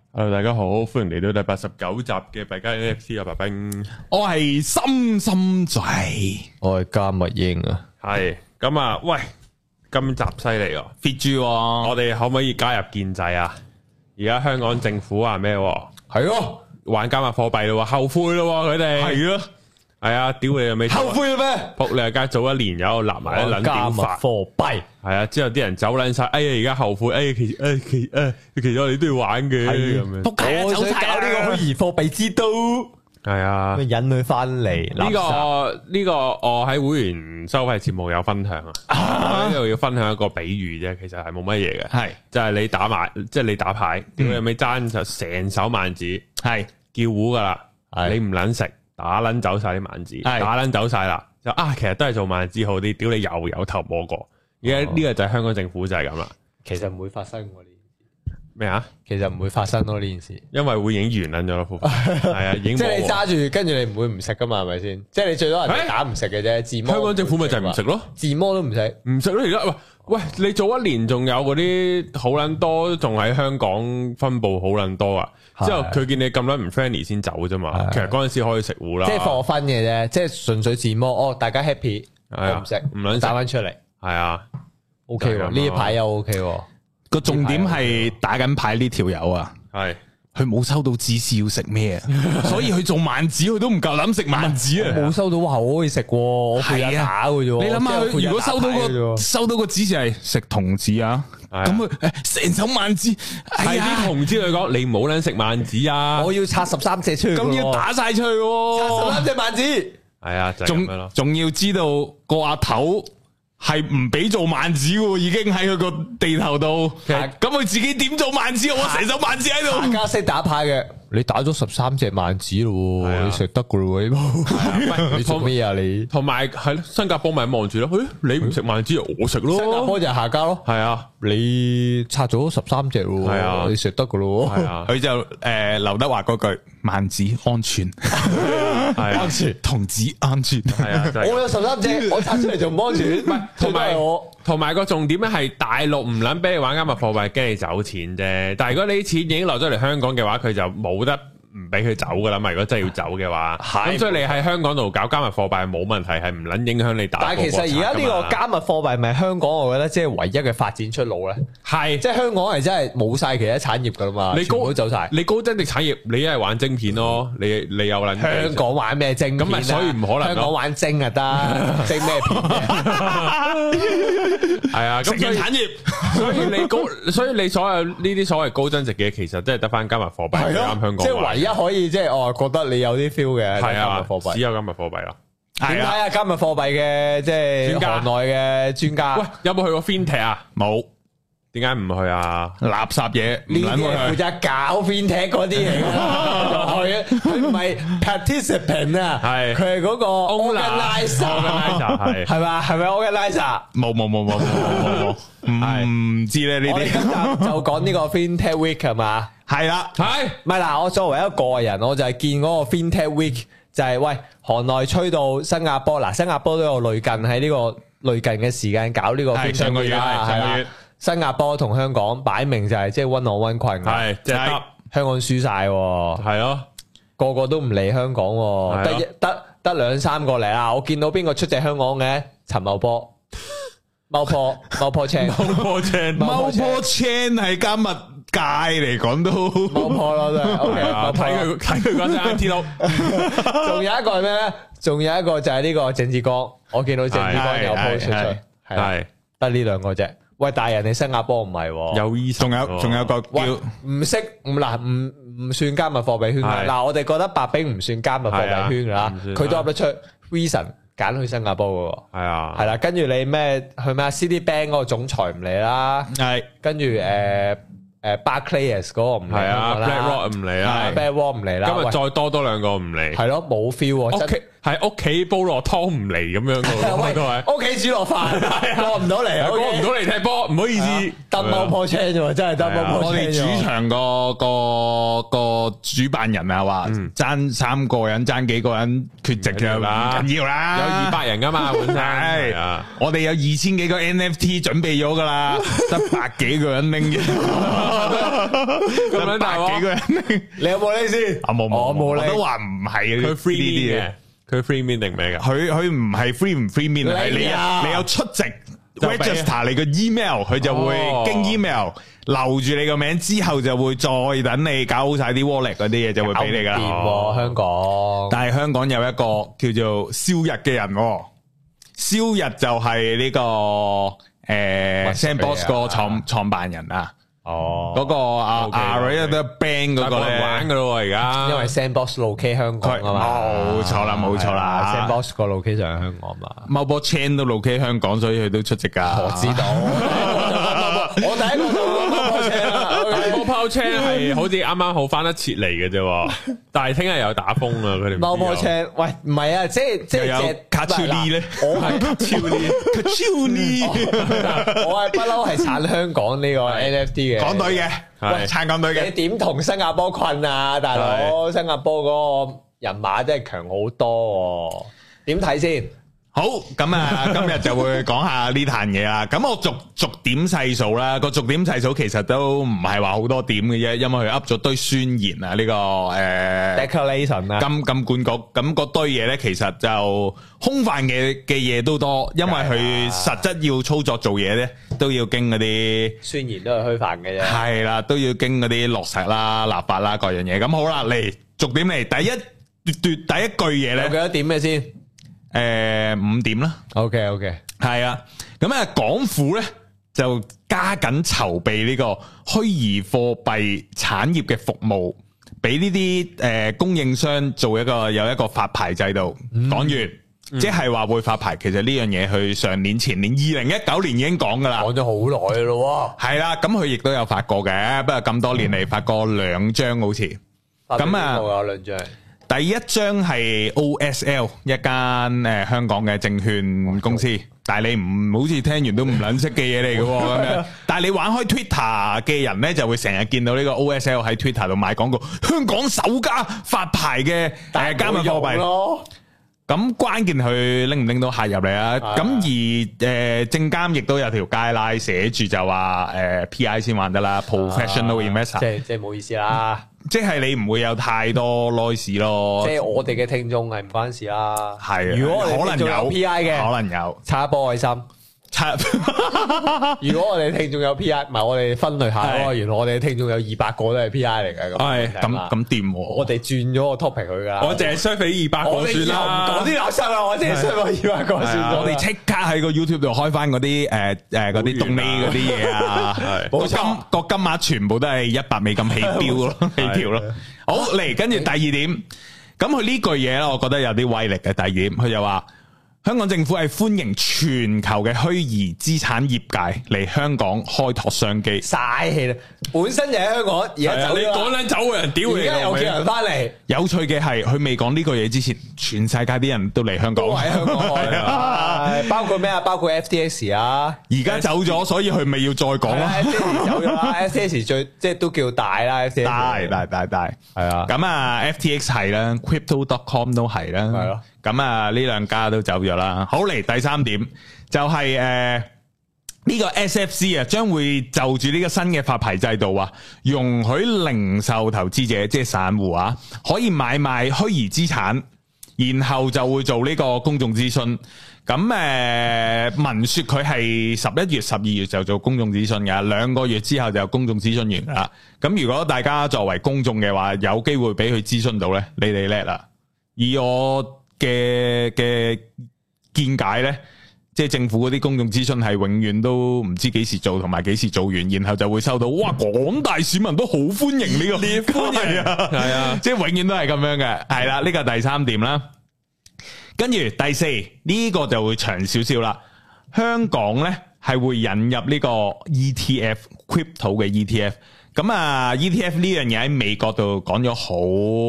Hello， 大家好，歡迎嚟到第89集嘅幣加 NFT 啊，白兵， 我係心心仔， 我係加密英啊， 係咁啊，喂，今集犀利喎 fit 住， 我哋可唔可以加入建制啊？而家香港政府話咩？ 係咯， 玩加密貨幣咯，後悔咯，佢哋係咯， 係啊，屌你又未後悔啦咩？ 仆你家早一年有立埋一撚加密屌法， 貨幣係啊，之後啲人走撚晒，哎呀，而家後悔，哎，其實我哋都要玩嘅，咁樣， 仆街我想搞呢個虛擬貨幣之都， 係啊， 引佢翻嚟呢個我喺會員收費節目有分享啊，呢度要分享一個比喻啫，其實係冇乜嘢嘅， 係就係你打埋，即係你打牌，屌你咪爭就成手萬紙，係叫糊噶啦，你唔撚食，打撚走晒啲萬紙，打撚走晒啦，就其實都係做萬紙好啲，屌你又有頭摸過，而家呢個就係香港政府就係咁啦， 其實唔會發生喎呢件事咩啊？ 其實唔會發生咯呢件事， 因為會已經完撚咗咯，係啊，已經即係你揸住，跟住你唔會唔食噶嘛，係咪先？即係你最多人哋打唔食嘅啫，自摸。 香港政府咪就係唔食咯， 自摸都唔食， 唔食咯。而家喂，你做一年仲有嗰啲好撚多，仲喺香港分佈好撚多啊！之後佢見你咁撚唔 friendly 先走啫嘛。其實嗰陣時可以食糊啦， 即係貨分嘅啫，即係純粹自摸。哦，大家 happy，我唔食， 唔撚打翻出嚟， 係啊 ，OK 喎，呢排又 OK 喎。 個重點係打緊牌呢條友啊， 係佢冇收到指示要食咩啊，所以佢做萬紙佢都唔夠膽食萬紙啊， 冇收到話我可以食，我配日打嘅啫。 你諗下佢如果收到個指示係食童子啊，咁佢成手萬紙， 係啲童子嚟講，你唔好撚食萬紙啊！ 我要拆13隻出去， 咁要打晒出去， 拆13隻萬紙， 係啊，就咁樣咯。 仲要知道個阿頭係唔俾做萬紙嘅，已經喺佢個地頭度。咁佢自己點做萬紙？我成手萬紙喺度。 大家識打牌嘅，你打咗13隻萬紙咯，你食得噶咯？你做咩啊？你同埋係咯，新加坡咪望住咯。你唔食萬紙，我食咯。 新加坡就係下家咯。係啊，你拆咗13隻咯。係啊，你食得噶咯。 係啊， 佢就劉德華嗰句萬紙安全，係安全，童子安全。係啊， 我有13隻，我拆出嚟就唔安全。 同埋個重點咧係大陸唔撚俾你玩加密貨幣，驚你走錢啫。但係如果你啲錢已經落咗嚟香港嘅話，佢就冇得唔俾佢走噶啦嘛。如果真係要走嘅話，咁所以你喺香港度搞加密貨幣係冇問題，係唔撚影響你打。 但係其實而家呢個加密貨幣咪香港，我覺得即係唯一嘅發展出路咧。係，即係香港係真係冇晒其他產業噶啦嘛，全部都走晒。你高增值產業，你一係玩晶片咯，你有撚香港玩咩晶片？咁咪所以唔可能。 香港玩晶啊得，晶咩片？ 係啊，咁產業，所以你所有呢啲所謂高增值嘅，其實真係得翻加密貨幣啱香港。 即係唯一可以即係覺得你有啲 feel 嘅係加密貨幣， 只有加密貨幣啦。 點解啊？加密貨幣嘅即係行內嘅專家，喂， 有冇去過 FinTech 啊？ 冇。 點解唔去啊？ 垃圾嘢， 呢啲係負責搞 FinTech 嗰啲嚟嘅，去啊！佢唔係 participant 啊，係佢係嗰個 organizer，係嘛？係咪 organizer？ 冇，唔知咧呢啲。 就講呢個 FinTech Week 係嘛？ 係啦， 係咪嗱？我作為一個個人，我就係見嗰個 FinTech Week 就係喂，行內吹到新加坡嗱，新加坡都有類近喺呢個類近嘅時間搞呢個 FinTech Week 啦，係啦。新加坡同香港擺明就係即係 one on one 群， 係即係香港輸晒，係咯，個個都唔嚟香港，得2-3個嚟啦。我見到邊個出席香港嘅？陳茂波、貓坡青係加密界嚟講都貓坡咯，真係 OK 啊！ 睇佢嗰隻 IT 佬， 仲有一個係咩咧？仲有一個就係呢個鄭志剛，我見到鄭志剛有 post 出嚟，係得呢兩個啫。喂，大人，你新加坡唔係，有醫生， 仲有個叫唔識唔算加密貨幣圈嘅。嗱，我哋覺得白兵唔算加密貨幣圈噶啦，佢都噏得出 reason 揀去新加坡噶，係啊，係啦，跟住你咩去咩 Citibank 嗰個總裁唔嚟啦，係，跟住Barclays 嗰個唔嚟啦 ，BlackRock 唔嚟啦 ，BlackRock 唔嚟啦， 今日再多兩個唔嚟， 係咯，冇 feel。 屋企煲落湯唔嚟咁樣噶， 屋企煮落飯過唔到嚟， 過唔到嚟踢波，唔好意思， 得貓破車啫，真係得貓破車。 我哋主場個主辦人啊話爭3個人，爭幾個人缺席嘅唔緊要啦， 有200人噶嘛本身，係啊， 我哋有2000幾個 NFT 準備咗噶啦，得100幾個人拎嘅。 咁樣大鑊，幾個人？ 你有冇呢先？ 冇，我冇呢，我都話唔係佢 free 嘅，佢 free mean 定咩噶？ 佢唔係 free 唔 free mean，係你有出席 register 你個 email， 佢就會經 email 留住你個名，之後就會再等你搞好晒啲 wallet 嗰啲嘢，就會俾你噶啦。 香港， 但係香港有一個叫做蕭日嘅人，蕭日就係呢個Sandbox 個創辦人啊。嗰個Ray Bang 嗰個咧玩噶咯，而家因為 Sandbox locate 香港啊嘛， 冇錯啦 ，Sandbox 個 locate 就係香港嘛 ，Mobile Chain 都 locate 香港，所以佢都出席噶。 我知道，我第一個就 Mobile Chain 啦。 Mobile Chain 係好似啱啱好翻得切嚟嘅啫，但係聽日又打風啊！佢哋 Mobile Chain，喂，唔係啊，即係有卡超呢咧， 我係卡超呢，我係不嬲係撐香港呢個 NFT 嘅港隊嘅，喂，撐港隊嘅， 你點同新加坡困啊，大佬？新加坡嗰個人馬真係強好多，點睇先？ 好，咁啊，今日就會講下呢壇嘢啦。咁我逐點細數啦，個逐點細數其實都唔係話好多點嘅啫，因為佢噏咗堆宣言啊，呢個 declaration 啊， 金管局咁嗰堆嘢咧，其實就空泛嘅嘢都多，因為佢實質要操作做嘢咧，都要經嗰啲宣言都係虛泛嘅啫。 係啦，都要經嗰啲落實啦、立法啦各樣嘢。咁好啦，嚟逐點嚟，第一句嘢咧， 有幾多點嘅先 ？5點啦。 OK， 係啊。咁啊，港府咧就加緊籌備呢個虛擬貨幣產業嘅服務，俾呢啲供應商有一個發牌制度。講完，即係話會發牌。其實呢樣嘢佢上年前年2019年已經講噶啦， 講咗好耐咯。 係啦，咁佢亦都有發過嘅，不過咁多年嚟發過2張好似。咁啊， 有2張。第一張係 OSL 一間香港嘅證券公司，但係你唔好似聽完都唔撚識嘅嘢嚟嘅咁樣。但係你玩開 Twitter 嘅人咧，就會成日見到呢個 OSL 喺 Twitter 度賣廣告，香港首家發牌嘅加密貨幣咯。咁關鍵佢拎唔拎到客入嚟啊？咁而證監亦都有條街拉寫住就話PI 先玩得啦，professional investor。即係冇意思啦。即係你唔會有太多 noise 咯，即係我哋嘅聽眾係唔關事啦。係，如果我哋聽眾有 PI 嘅，可能有插一波愛心。如果我哋聽眾有 PI，唔係我哋分類下咯。原來我哋聽眾有200個都係 PI 嚟嘅。係咁掂。我哋轉咗個 topic 佢噶。我淨係 share 俾200個算啦。唔講啲垃圾啦，我淨係 share 俾200個算。我哋即刻喺個 YouTube 度開翻嗰啲嗰啲動力嗰啲嘢啊。冇錯，個金額全部都係$100起標咯，起跳咯。好嚟，跟住第二點，咁佢呢句嘢咧，我覺得有啲威力嘅。第二點，佢就話。香港政府係歡迎全球嘅虛擬資產業界嚟香港開拓商機。嘥氣啦，本身就喺香港，而家走你講緊走嘅人，屌你，而家又叫人翻嚟。有趣嘅係，佢未講呢個嘢之前，全世界啲人都嚟香港，都喺香港開啊！包括咩啊？包括 FTX 啊，而家走咗，所以佢咪要再講咯。FTX 走咗啦，FTX 最即係都叫大啦，FTX 大，係啊。咁啊，FTX 係啦 ，Crypto.com 都係啦，係咯。咁啊，呢兩家都走咗啦。好，嚟第三點就係呢個 SFC 啊，將會就住呢個新嘅發牌制度啊，容許零售投資者即係散戶啊，可以買賣虛擬資產，然後就會做呢個公眾諮詢。咁聞說佢係11月、12月就做公眾諮詢嘅，2個月之後就公眾諮詢完噶啦。咁如果大家作為公眾嘅話，有機會俾佢諮詢到呢，你哋叻啦。以我嘅見解咧，即係政府嗰啲公眾諮詢係永遠都唔知幾時做，同埋幾時做完，然後就會收到哇，廣大市民都好歡迎呢個，歡迎啊，係啊，即係永遠都係咁樣嘅，係啦，呢個第三點啦。跟住第四呢個就會長少少啦，香港咧係會引入呢個 ETF crypto 嘅 ETF。咁啊 ETF 呢樣嘢喺美國度講咗好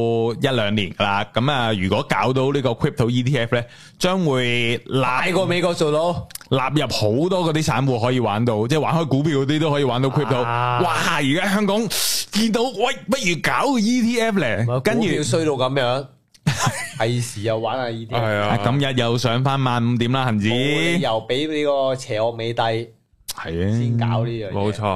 1-2年噶啦，咁啊如果搞到呢個 crypto ETF 咧，將會大過美國做到，納入好多嗰啲散戶可以玩到，即係玩開股票嗰啲都可以玩到 crypto。哇！而家香港見到，喂，不如搞個 ETF 咧，跟住衰到咁樣，係時又玩下 ETF。係啊，今日又上翻15,000點啦，恒指又俾呢個邪惡美帝係啊，先搞呢樣嘢，冇錯。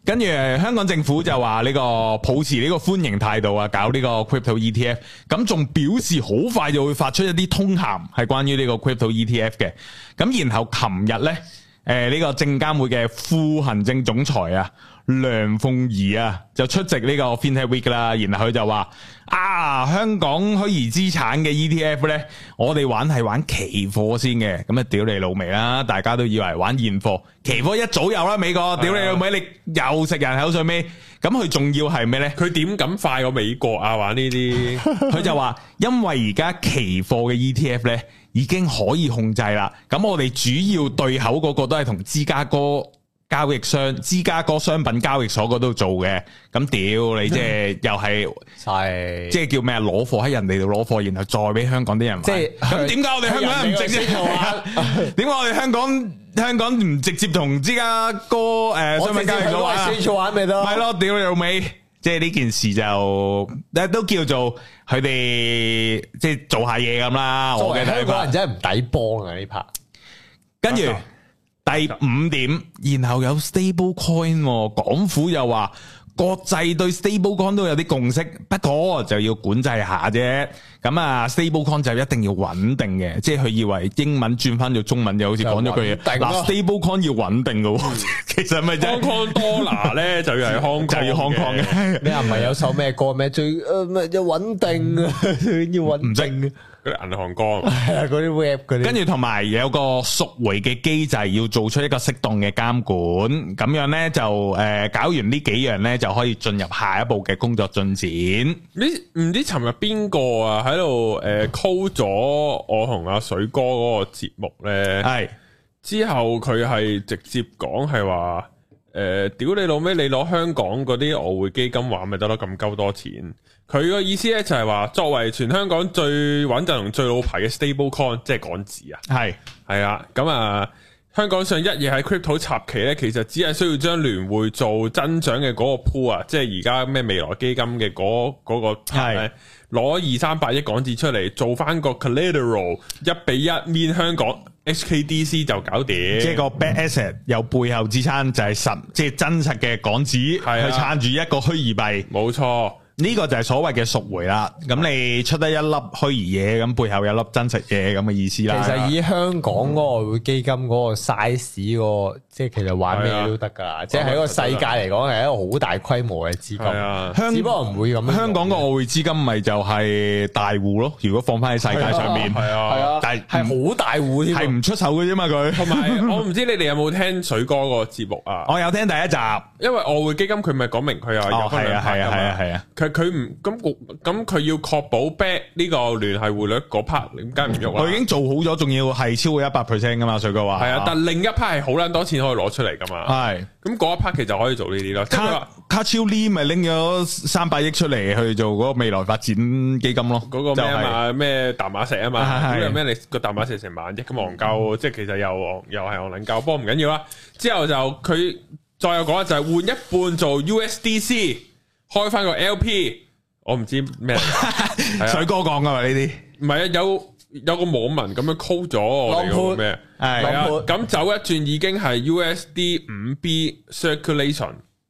跟住香港政府就話呢個抱持呢個歡迎態度啊，搞呢個 crypto ETF， 咁仲表示好快就會發出一啲通函係關於呢個 crypto ETF 嘅。咁然後琴日呢，呢個證監會嘅副行政總裁啊梁鳳儀啊就出席呢個 FinTech Week 啦，然後佢就話香港虛擬資產嘅 ETF 呢，我哋玩係玩期貨先嘅，咁啊屌你老味啦，大家都以為玩現貨，期貨一早有啦，美國屌你老味，你又食人口水尾，咁佢仲要係咩呢？ 佢點敢快過美國啊？玩呢啲， 佢就話因為而家期貨嘅 ETF 呢已經可以控制啦，咁我哋主要對口嗰個都係同芝加哥交易商、芝加哥商品交易所嗰度做嘅，咁屌你即係又係，即係叫咩啊？攞貨喺人哋度攞貨，然後再俾香港啲人玩。即係咁點解我哋香港人唔直接？點解我哋香港唔直接同芝加哥商品交易所玩啊？ 玩咪得？ 係咯，屌你老味！即係呢件事就都叫做佢哋即係做下嘢咁啦。我嘅睇法，香港人真係唔抵幫啊呢 part。跟住。第5點，然後有 stable coin，港府又話國際對 stable coin 都有啲共識，不過就要管制下啫。咁啊 stable coin 就一定要穩定嘅，即係佢以為英文轉翻做中文就好似講咗句嘢。嗱 stable coin 要穩定嘅，其實咪就係 Hong Kong dollar 咧就要係 Hong Kong 就要 Hong Kong 嘅。 你唔係有首咩歌咩？最咩要穩定啊，要穩定。 嗰啲銀行歌， 係啊，嗰啲 web 嗰啲， 跟住同埋有個贖回嘅機制，要做出一個適當嘅監管，咁樣咧就搞完呢幾樣咧，就可以進入下一步嘅工作進展。 唔知尋日邊個啊喺度call 咗我同阿水哥嗰個節目咧？係之後佢係直接講係話屌你老味，你攞香港嗰啲外匯基金玩咪得咯，咁鳩多錢。佢個意思咧就係話，作為全香港最穩陣同最老牌嘅 stable coin， 即係港紙啊，係啊，咁啊，香港上一夜喺 crypto 插旗咧，其實只係需要將聯匯做增長嘅嗰個 pool 啊，即係而家咩未來基金嘅嗰個係攞200-300億港紙出嚟做翻個 collateral 1:1面香港 HKDC 就搞掂， 即係個 bad asset 有背後支撐就係實，即係真實嘅港紙去撐住一個虛擬幣， 冇錯。 呢個就係所謂嘅贖回啦，咁你出得一粒虛擬嘢，咁背後有粒真實嘢咁嘅意思啦。 其實以香港嗰個外匯基金嗰個 size 個，即係其實玩咩都得噶，即係喺個世界嚟講係一個好大規模嘅資金，只不過唔會咁。香港個外匯資金咪就係大戶咯，如果放翻喺世界上面，係啊，但係好大戶添，係唔出手嘅啫嘛佢。同埋我唔知你哋有冇聽水哥個節目啊？ 我有聽第一集， 因為外匯基金佢咪講明佢有分兩 part 噶嘛。佢唔咁佢要確保 back 呢個聯繫匯率嗰 part， 點解唔喐啊？ 佢已經做好咗，仲要係超過 100% 噶嘛？水哥話係啊，但另一 part 係好撚多錢可以攞出嚟噶嘛？係咁嗰一 part 其實可以做呢啲咯。 卡超 Lee 咪拎咗300億出嚟去做嗰個未來發展基金咯。 嗰個咩啊嘛？咩淡馬錫啊嘛？咁有咩你個淡馬錫成萬億咁戇鳩，即係其實又係戇撚鳩，不過唔緊要啦。之後就佢再有講就係換一半做 USDC， 開翻個 LP。我唔知咩， 水哥講噶嘛呢啲？ 唔係啊，有個網民咁樣 call 咗我哋個咩？係啊，咁走一轉已經係 USD 5B circulation。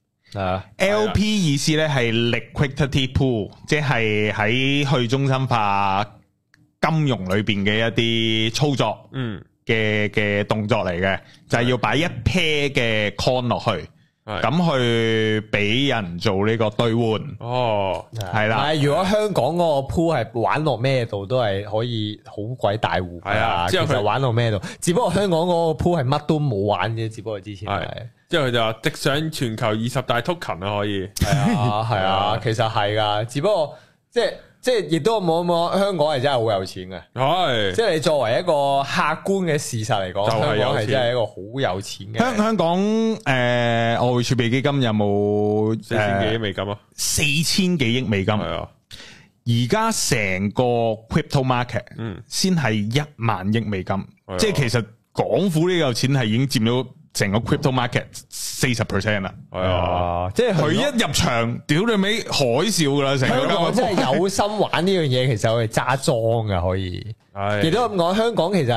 LP 意思咧係 liquidity pool， 即係喺去中心化金融裏邊嘅一啲操作，嘅動作嚟嘅，就係要擺一 pair 嘅 coin 落去。咁去俾人做呢個兌換係啦。 如果香港嗰個 pool 係玩落咩度都係可以好鬼大戶噶，其實玩落咩度，只不過香港嗰個 pool 係乜都冇玩嘅，只不過之前係。 之後佢就話直上全球20大 token 啊，可以。 係啊，其實係噶，只不過即係亦都冇香港係真係好有錢嘅，係即係你作為一個客觀嘅事實嚟講，香港係真係一個好有錢嘅。香港外匯儲備基金有冇 4000幾億美金啊 ？4000幾億美金係啊！而家成個 crypto market 先係1萬億美金，即係其實港府呢嚿錢係已經佔咗成個 crypto market 40% 啦，係啊，即係佢一入場，屌你尾海嘯噶啦，成個香港真係有心玩呢樣嘢，其實我哋揸莊噶可以，亦都咁講，香港其實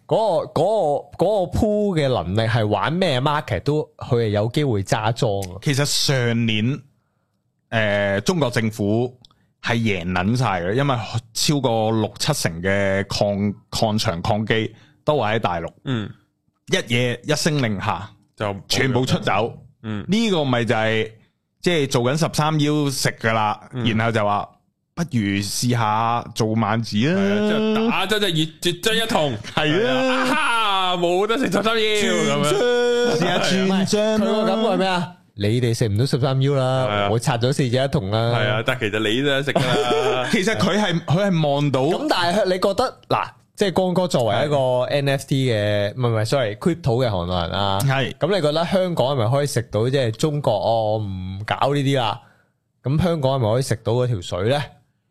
嗰個 pool 嘅能力係玩咩 market 都佢係有機會揸莊。 其實上年中國政府係贏捻晒嘅，因為超過6-7成嘅礦場礦機都係喺大陸。一夜一聲令下就全部出走。呢個咪就係即係做緊13腰食噶啦，然後就話。不如試下做萬字啊！ 打咗隻熱絕追一筒， 係啊，冇得食13腰咁樣， 試下轉張。 佢個感覺係咩啊？你哋食唔到13腰啦，我拆咗4隻一筒啦。 係啊，但係其實你都食啦。 其實佢係望到。 咁但係你覺得嗱，即係光哥作為一個 NFT 嘅，唔係 sorry，crypto 嘅行內人啊，係咁你覺得香港係咪可以食到即係中國唔搞呢啲啦？咁香港係咪可以食到嗰條水咧？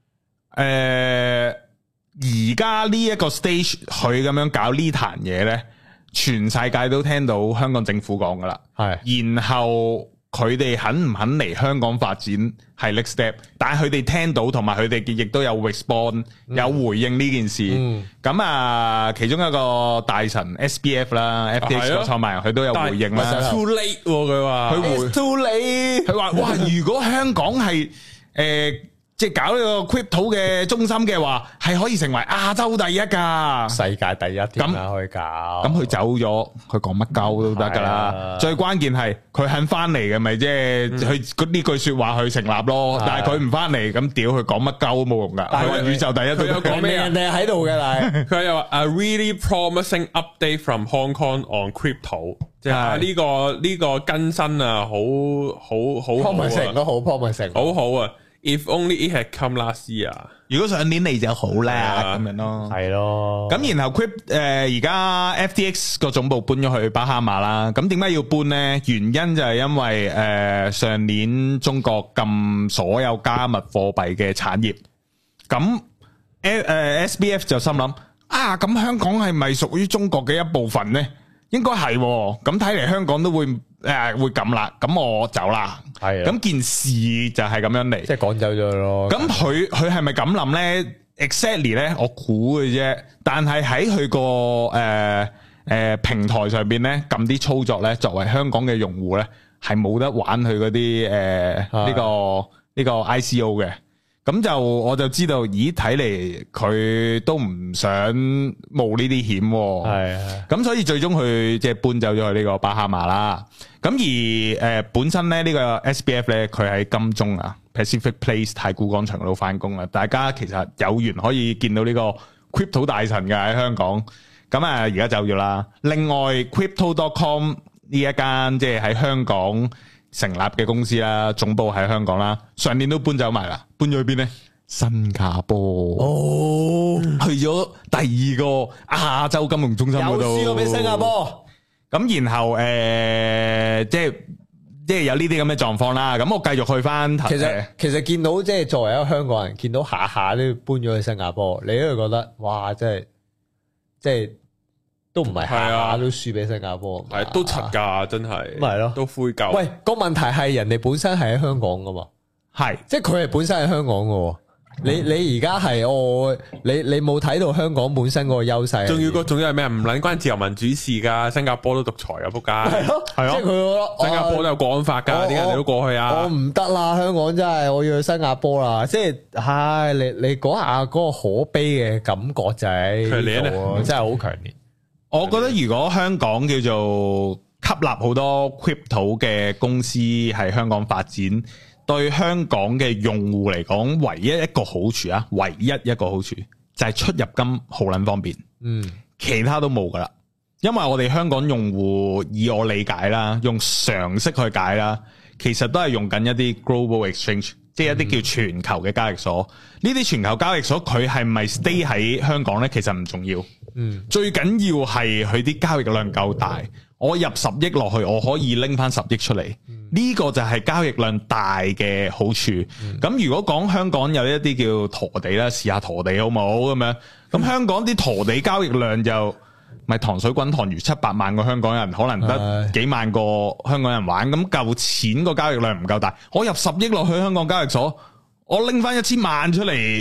而家呢一個 stage 佢咁樣搞呢壇嘢呢，全世界都聽到香港政府講噶啦，係，然後佢哋肯唔肯嚟香港發展係 next step，但係佢哋聽到同埋佢哋亦都有 respond，有回應呢件事，咁啊，其中一個大神 SBF 啦，FTX 個創辦人佢都有回應啦 ，too late 佢話， 佢 too late， 佢話哇，如果香港係即係搞呢個 crypto 嘅中心嘅話，係可以成為亞洲第一噶， 世界第一點啦可以搞。 咁佢走咗，佢講乜鳩都得噶啦。最關鍵係佢肯翻嚟嘅，咪即係佢呢句說話去成立咯。但係佢唔翻嚟，咁屌佢講乜鳩都冇用噶。佢話宇宙第一，佢有講咩？ 人哋喺度嘅，但係佢又話 a really promising update from Hong Kong on crypto， 即係呢個更新啊，好 promising 都好 promising， 好好啊。If only it had come last year， 如果上年嚟就好啦，咁樣咯， 係咯。咁然後而家 FTX 個總部搬咗去巴哈馬啦。咁點解要搬呢？原因就係因為上年中國禁所有加密貨幣嘅產業。咁SBF 就心諗啊，咁香港係咪屬於中國嘅一部分呢？應該係，咁睇嚟香港都會咁啦，咁我走啦。係，咁件事就係咁樣嚟， 即係趕走咗咯。 咁佢係咪咁諗咧 ？Exactly 咧，我估嘅啫。但係喺佢個平台上邊咧，撳啲操作咧，作為香港嘅用戶咧，係冇得玩佢嗰啲呢個 ICO 嘅。咁就我就知道，咦？睇嚟佢都唔想冒呢啲險，係。咁所以最終佢即係搬走咗去呢個巴哈馬啦。咁而本身咧呢個 SBF 咧，佢喺金鐘啊 Pacific Place 太古廣場嗰度翻工啦。大家其實有緣可以見到呢個 Crypto 大神嘅喺香港。咁啊而家走咗啦。另外 Crypto.com 呢一間即係喺香港成立嘅公司啦，總部喺香港啦，上年都搬走埋啦，搬咗去邊呢？新加坡哦，去咗第二個亞洲金融中心嗰度， 又輸咗俾新加坡。 咁然後即係有呢啲咁嘅狀況啦。咁我繼續去翻。 其實見到即係作為一個香港人，見到下下都搬咗去新加坡，你都會覺得哇，即係。都唔係下下都輸俾新加坡， 係都柒噶，真係， 咪係咯， 都灰鳩。 喂，個問題係人哋本身係喺香港噶嘛， 係， 即係佢係本身喺香港噶。你而家係你冇睇到香港本身嗰個優勢。 仲要係咩？唔撚關自由民主事噶，新加坡都獨裁啊，仆街。係咯， 係咯，即係佢新加坡都有國安法噶，點解你都過去啊？ 我唔得啦，香港真係我要去新加坡啦。即係，唉，你講下嗰個可悲嘅感覺就係，真係好強烈。 我覺得如果香港叫做吸納好多 crypto 嘅公司喺香港發展，對香港嘅用戶嚟講，唯一一個好處啊，唯一一個好處就係出入金好撚方便，其他都冇噶啦。因為我哋香港用戶以我理解啦，用常識去解啦，其實都係用緊一啲 global exchange，即係一啲叫全球嘅交易所。呢啲全球交易所佢係咪 stay 喺香港呢？其實唔重要。最緊要係佢啲交易量夠大，我入10億落去，我可以拎翻10億出嚟，呢個就係交易量大嘅好處。咁如果講香港有一啲叫陀地啦，試下陀地好冇咁樣？咁香港啲陀地交易量就咪糖水滾糖魚，700萬個香港人可能得幾萬個香港人玩，咁夠錢個交易量唔夠大，我入10億落去香港交易所，我拎翻1000萬出嚟。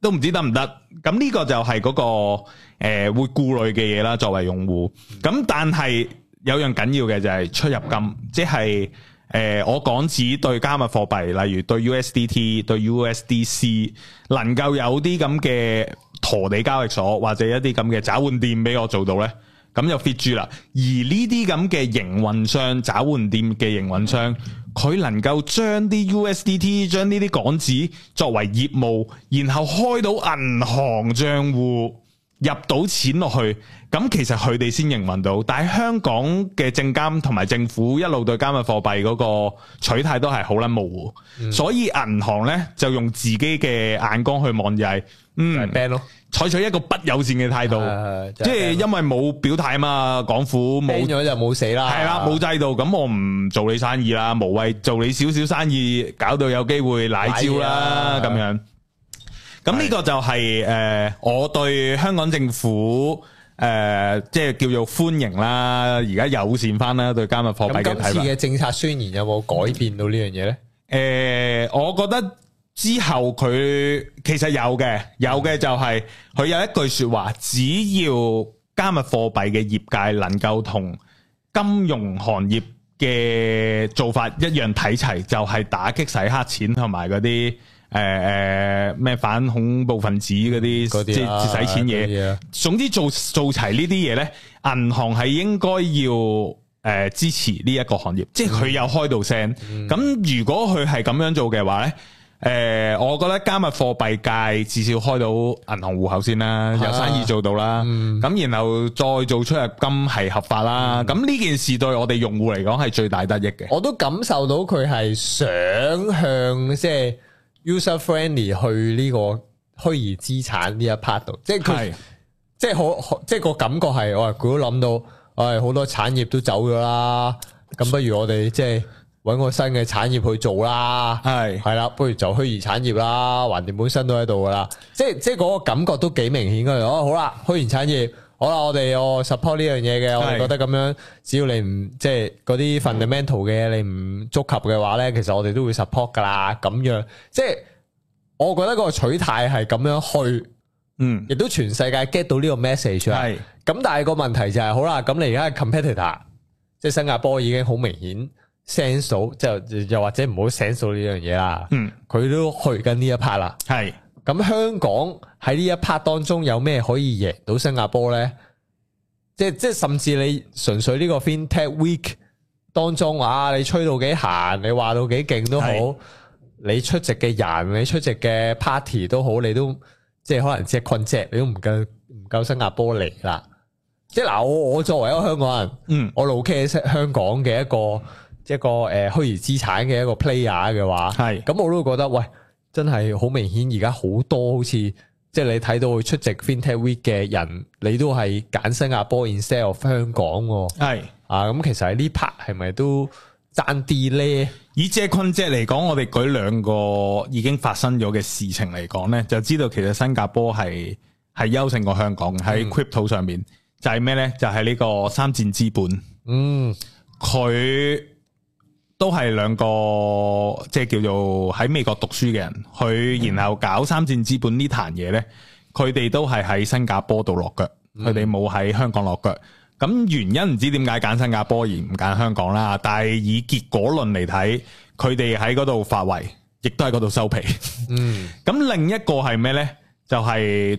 都唔知得唔得。咁呢個就係嗰個會顧慮嘅嘢啦，作為用戶。咁但係有樣緊要嘅就係出入金，即係我港紙對加密貨幣，例如對 USDT、對 USDC， 能夠有啲咁嘅陀地交易所或者一啲咁嘅找換店俾我做到呢，咁就 fit 住啦。而呢啲咁嘅營運商、找換店嘅營運商，佢能夠將啲 USDT、將呢啲港紙作為業務，然後開到銀行賬戶，入到錢落去，咁其實佢哋先營運到。但係香港嘅證監同埋政府一路對加密貨幣嗰個取態都係好撚模糊，所以銀行呢就用自己嘅眼光去望就係採取一個不友善嘅態度，即係因為冇表態啊嘛，港府冇咗就冇死啦， 係啦，冇制度，咁我唔做你生意啦，無謂做你少少生意，搞到有機會奶招啦咁樣。咁呢個就係我對香港政府即係叫做歡迎啦，而家友善翻啦，對加密貨幣嘅睇法。 咁今次嘅政策宣言有冇改變到呢樣嘢咧？我覺得之後佢其實有嘅就係佢有一句說話，只要加密貨幣嘅業界能夠同金融行業嘅做法一樣睇齊，就係打擊洗黑錢同埋嗰啲咩反恐怖分子嗰啲即係洗錢嘢。總之做齊呢啲嘢咧，銀行係應該要支持呢一個行業，即係佢有開到聲。咁如果佢係咁樣做嘅話咧，我覺得加密貨幣界至少開到銀行戶口先啦，有生意做到啦，咁然後再做出入金係合法啦，咁呢件事對我哋用戶嚟講係最大得益嘅。 我都感受到佢係想向即係 user friendly 去呢個虛擬資產呢一 part 度，即係佢即係好即係個感覺係，佢都諗到，好多產業都走咗啦，咁不如我哋即係搵個新嘅產業去做啦，係啦，不如就虛擬產業啦，橫掂本身都喺度噶啦，即係嗰個感覺都幾明顯噶。好啦，虛擬產業，好啦，我哋support 呢樣嘢嘅，我哋覺得咁樣，只要你唔即係嗰啲 fundamental 嘅嘢，你唔觸及嘅話咧，其實我哋都會 support 噶啦。咁樣，即係我覺得個取態係咁樣去，亦都全世界 get 到呢個 message 啊。咁但係個問題就係，好啦，咁你而家係 competitor，即係新加坡已經好明顯。sense 到即係又或者唔好 sense 到呢樣嘢啦，佢都去緊呢一 part 啦。係咁香港喺呢一 part 當中有咩可以贏到新加坡咧？即係甚至你純粹呢個 FinTech Week 當中你吹到幾閒，你話到幾勁都好，你出席嘅人，你出席嘅 party 都好，你都即係可能只係困隻，你都唔夠新加坡嚟啦。即係嗱，我作為一個香港人，我老 K 香港嘅一個虛擬資產嘅一個 player 嘅話，咁我都會覺得，喂，真係好明顯，而家好多好似即係你睇到佢出席 FinTech Week 嘅人，你都係揀新加坡 instead of 香港，咁其實喺呢 part 係咪都爭啲咧？ 以借困借嚟講，我哋舉兩個已經發生咗嘅事情嚟講咧，就知道其實新加坡係優勝過香港喺 crypto 上面，就係咩咧？就係呢個三箭資本，佢都係兩個即係叫做喺美國讀書嘅人，佢然後搞三箭資本呢壇嘢呢，佢哋都係喺新加坡度落腳，佢哋冇喺香港落腳。咁原因唔知點解揀新加坡而唔揀香港啦，但係以結果論嚟睇，佢哋喺嗰度發圍，亦都喺嗰度收皮。咁另一個係咩呢？就係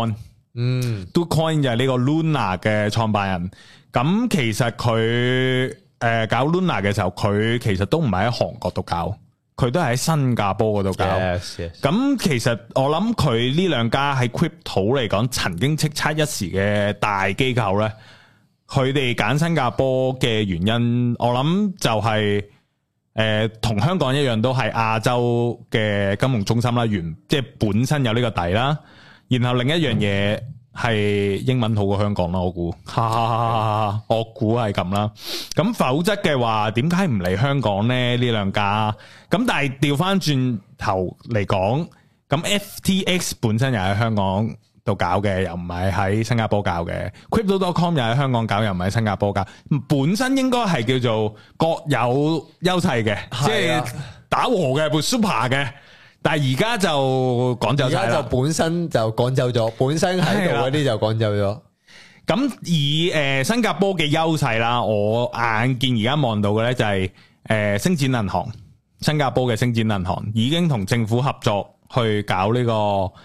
DoCoin，DoCoin 就係呢個 Luna 嘅創辦人。咁其實佢搞 Luna 嘅時候，佢其實都唔係喺韓國度搞，佢都係喺新加坡嗰度搞。咁其實我諗佢呢兩家喺 crypto 嚟講，曾經叱咤一時嘅大機構呢，佢哋揀新加坡嘅原因，我諗就係同香港一樣，都係亞洲嘅金融中心啦，即係本身有呢個底啦。然後另一樣嘢係英文好過香港啦，我估，我估係咁啦。咁否則嘅話，點解唔嚟香港呢？呢兩家咁，但係調翻轉頭嚟講，咁 FTX 本身又喺香港度搞嘅，又唔係喺新加坡搞嘅。Crypto.com 又喺香港搞，又唔係喺新加坡搞。本身應該係叫做各有優勢嘅，即係打和嘅，super 嘅。 但係而家就趕走晒啦。 而家就本身就趕走咗，本身喺度嗰啲就趕走咗。 咁以新加坡嘅優勢啦，我眼見而家望到嘅咧就係星展銀行，新加坡嘅星展銀行已經同政府合作去搞呢個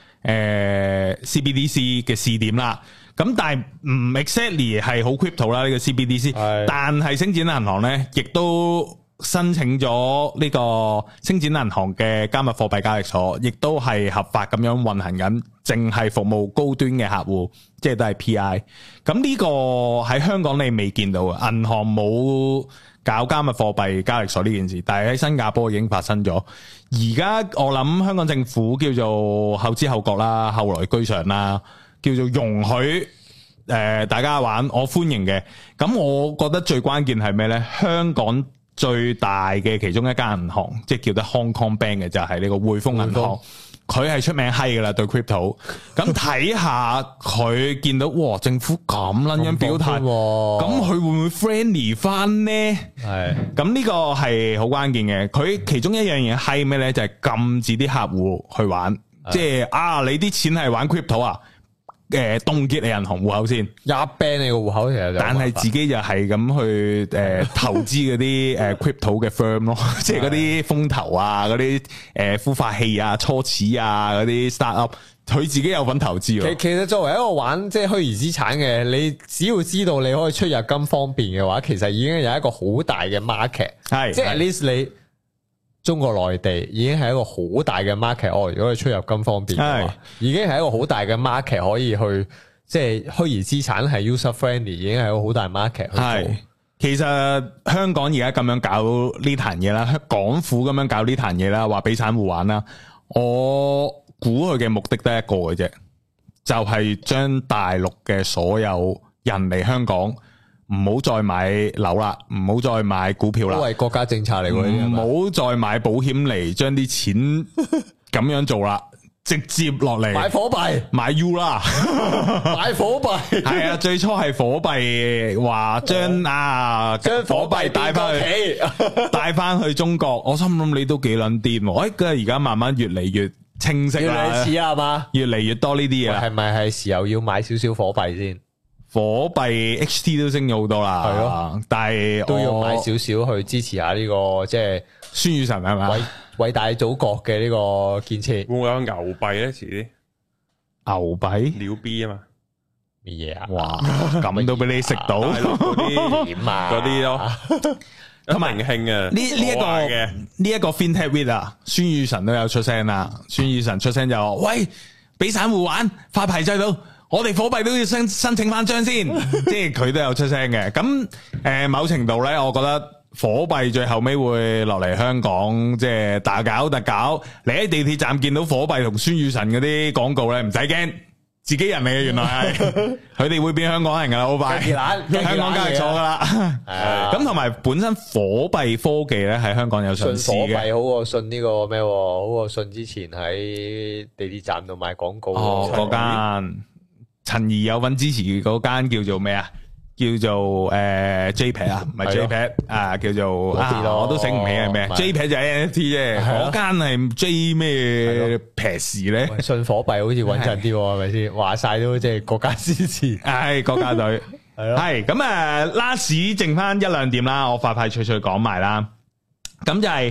CBDC 嘅試點啦。咁但係唔 exactly 係好 crypto 啦呢個 CBDC， 但係星展銀行咧亦都申請咗呢個星展銀行嘅加密貨幣交易所，亦都係合法咁樣運行緊，淨係服務高端嘅客戶，即係都係 PI。咁呢個喺香港你未見到嘅，銀行冇搞加密貨幣交易所呢件事，但係喺新加坡已經發生咗。而家我諗香港政府叫做後知後覺啦，後來居上啦，叫做容許大家玩，我歡迎嘅。咁我覺得最關鍵係咩呢？香港最大嘅其中一間銀行，即係叫得 Hong Kong Bank 嘅就係呢個匯豐銀行，佢係出名閪噶啦對 crypto。咁睇下佢見到哇政府咁撚樣表態，咁佢會唔會 friendly 翻呢？係，咁呢個係好關鍵嘅。佢其中一樣嘢閪咩呢？就係禁止啲客戶去玩，即係啊你啲錢係玩 crypto 啊，凍結你銀行戶口先， 一 ban 你個戶口其實就， 但係自己就係咁去投資嗰啲crypto 嘅 firm 咯，即係嗰啲風投啊，嗰啲孵化器啊、初始啊嗰啲 startup， 佢自己有份投資喎。 其實作為一個玩即係虛擬資產嘅，你只要知道你可以出入金方便嘅話，其實已經有一個好大嘅 market， 係即係 at least 你中國內地已經係一個好大嘅 market， 如果你出入金方便嘅話，已經係一個好大嘅 market 可以去，即係虛擬資產係 user friendly， 已經係一個好大 market 去做。係，其實香港而家咁樣搞呢壇嘢啦，港府咁樣搞呢壇嘢啦，話俾散戶玩啦，我估佢嘅目的得一個嘅啫，就係將大陸嘅所有人嚟香港，唔好再買樓啦，唔好再買股票啦，都係國家政策嚟嘅， 唔好再買保險嚟將啲錢咁樣做啦，直接落嚟買火幣， 買 U 啦， 買火幣係啊，最初係火幣話將火幣帶翻去中國，我心諗你都幾撚癲，而家慢慢越嚟越清晰啦， 越嚟似啊嘛， 越嚟越多呢啲嘢， 係咪係時候要買少少火幣先？ 火幣 HT 都升咗好多啦，係咯，但係都要買少少去支持下呢個即係孫宇晨係咪偉大祖國嘅呢個建設。 會唔會有牛幣咧？遲啲牛幣鳥 B 啊嘛， 咩嘢啊？ 哇，咁都俾你食到嗰啲點啊？嗰啲咯，咁明興啊！ 呢一個 FinTech Week 啊，孫宇晨都有出聲啦。孫宇晨出聲就話：喂，俾散戶玩發牌制度。我哋火幣都要申請翻張先，即係佢都有出聲嘅。咁某程度咧，我覺得火幣最後尾會落嚟香港，即係大搞特搞。你喺地鐵站見到火幣同孫宇晨嗰啲廣告咧，唔使驚，自己人嚟嘅，原來係佢哋會變香港人噶啦，好快，香港交易所噶啦。咁同埋本身火幣科技咧喺香港有上市嘅， 信火幣好過信呢個咩？好過信之前喺地鐵站度賣廣告嗰間。陳怡有份支持嗰間叫做咩啊？叫做JPEX 啊，唔係 JPEX 啊，叫做我都醒唔起係咩 ？JPEX 就係 NFT 啫，嗰間係 J 咩 PEX 咧？ 信火幣好似穩陣啲，係咪先？話晒都即係國家支持， 係國家隊，係咯。係咁啊，last 剩翻一兩點啦，我快快脆脆講埋啦。咁就係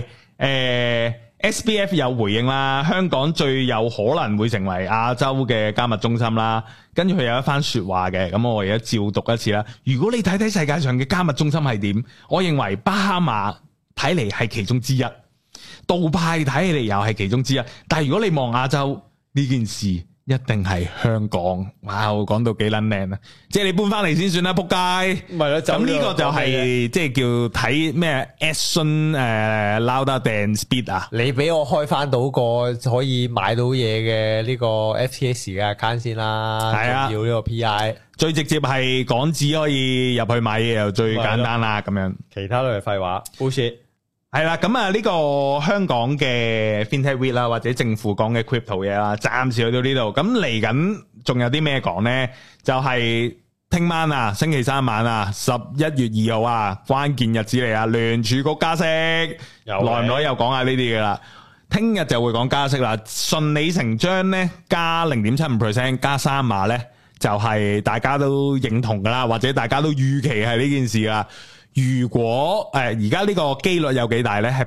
SBF 有回應啦，香港最有可能會成為亞洲嘅加密中心啦。跟住佢有一番說話嘅，咁我而家照讀一次啦。如果你睇睇世界上嘅加密中心係點，我認為巴哈馬睇嚟係其中之一，杜拜睇起嚟又係其中之一。但係如果你望亞洲呢件事，一定係香港。哇！我講到幾撚靚啊！即係你搬翻嚟先算啦，仆街。唔係啦，咁呢個就係即係叫睇咩 action louder than speed 啊！ 你俾我開翻到個可以買到嘢嘅呢個 FTX 嘅 account 先啦。係啊，要呢個 PI 最直接係港紙可以入去買嘢又最簡單啦，咁樣。 其他都係廢話。bullshit。 係啦，咁啊呢個香港嘅 FinTech Week 啦，或者政府講嘅 crypto 嘢啦，暫時去到呢度。咁嚟緊仲有啲咩講呢？就係聽晚啊，星期三晚啊，11月2號啊，關鍵日子嚟啊，聯儲局加息，耐唔耐又講下呢啲噶啦。 聽日就會講加息啦，順理成章咧加 0.75% 加3碼咧，就係大家都認同噶啦，或者大家都預期係呢件事啦。如果而家呢個機率有幾大咧？係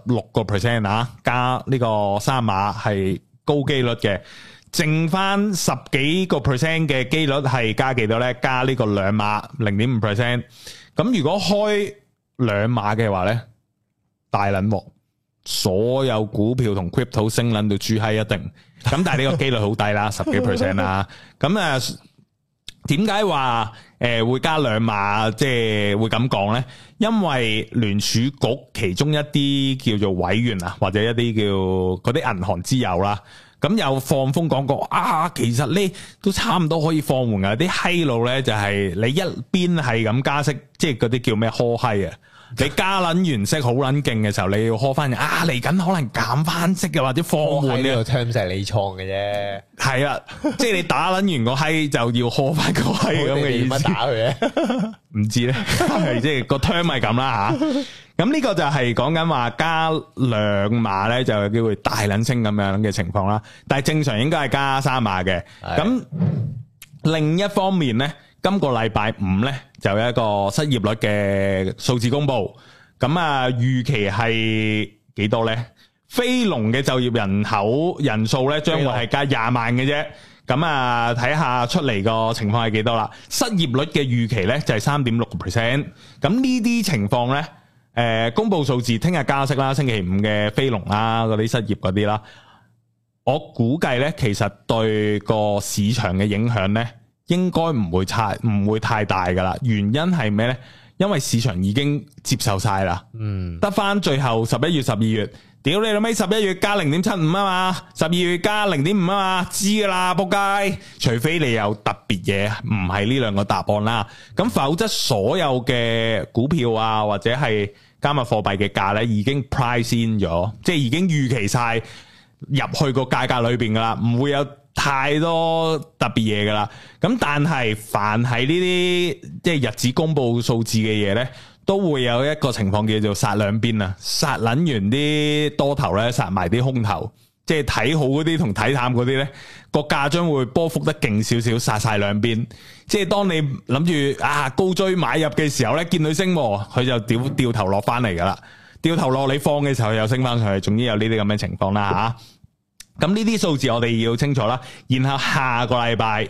86% 啊，加呢個3碼係高機率嘅，剩翻10幾個 percent 嘅機率係加幾多咧？加呢個2碼 0.5%。咁如果開2碼嘅話咧，大撚鑊，所有股票同 crypto 升撚到豬閪一定。咁但係呢個機率好低啦，10幾 percent 啦。咁點解話會加2碼？即係會咁講咧？因為聯儲局其中一啲叫做委員啊，或者一啲叫嗰啲銀行之友啦，咁有放風講過啊，其實呢都差唔多可以放緩噶。啲閪路咧就係你一邊係咁加息，即係嗰啲叫咩呵閪啊？你加撚完息好撚勁嘅時候，你要呵翻啊！嚟緊可能減翻息嘅，或者放緩呢個 terms 係你創嘅啫。係啊，即係你打撚完個閪就要呵翻個閪咁嘅意思。點打佢咧？唔知咧，即係個 term 係咁啦吓。咁呢個就係講緊話加2碼咧，就有機會大撚升咁樣嘅情況啦。但係正常應該係加3碼嘅。咁另一方面咧，今個禮拜5咧就有一個失業率嘅數字公布，咁預期係幾多咧？非農嘅就業人口人數咧將會係加20萬嘅啫，咁睇下出嚟個情況係幾多啦？失業率嘅預期咧就係 3.6%， 咁呢啲情況咧，公布數字聽日加息啦，星期5嘅非農啦，嗰啲失業嗰啲啦，我估計咧其實對個市場嘅影響咧，應該唔會太大噶啦。原因係咩咧？因為市場已經接受晒啦，得翻最後11月、12月，屌你老味，11月加 0.75 啊嘛，12月加 0.5 啊嘛，知噶啦，仆街！除非你有特別嘢，唔係呢兩個答案啦，咁否則所有嘅股票啊或者係加密貨幣嘅價咧，已經 price in 咗，即係已經預期晒入去個價格裏邊噶啦，唔會有太多特別嘢噶啦，咁但係凡係呢啲即係日子公布數字嘅嘢咧，都會有一個情況叫做殺兩邊啊，殺捻完啲多頭咧，殺埋啲空頭，即係睇好嗰啲同睇淡嗰啲咧，個價將會波幅得勁少少，殺晒兩邊。即係當你諗住高追買入嘅時候咧，見佢升，佢就掉頭落翻嚟噶啦，掉頭落你放嘅時候又升翻上去，總之有呢啲咁嘅情況啦吓。咁呢啲數字我哋要清楚啦，然後下個禮拜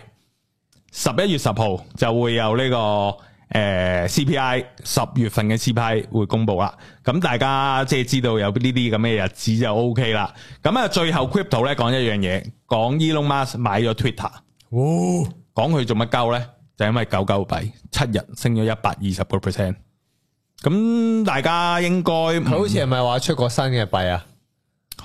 11月10號就會有呢個CPI 10月份嘅 CPI 會公布啦，咁大家即係知道有呢啲咁嘅日子就 OK 啦。咁最後 Crypto 咧講一樣嘢，講 Elon Musk 買咗 Twitter，講佢做乜鳩咧？就因為狗幣7日升咗120%，咁大家應該佢好似係咪話出個新嘅幣啊？ 去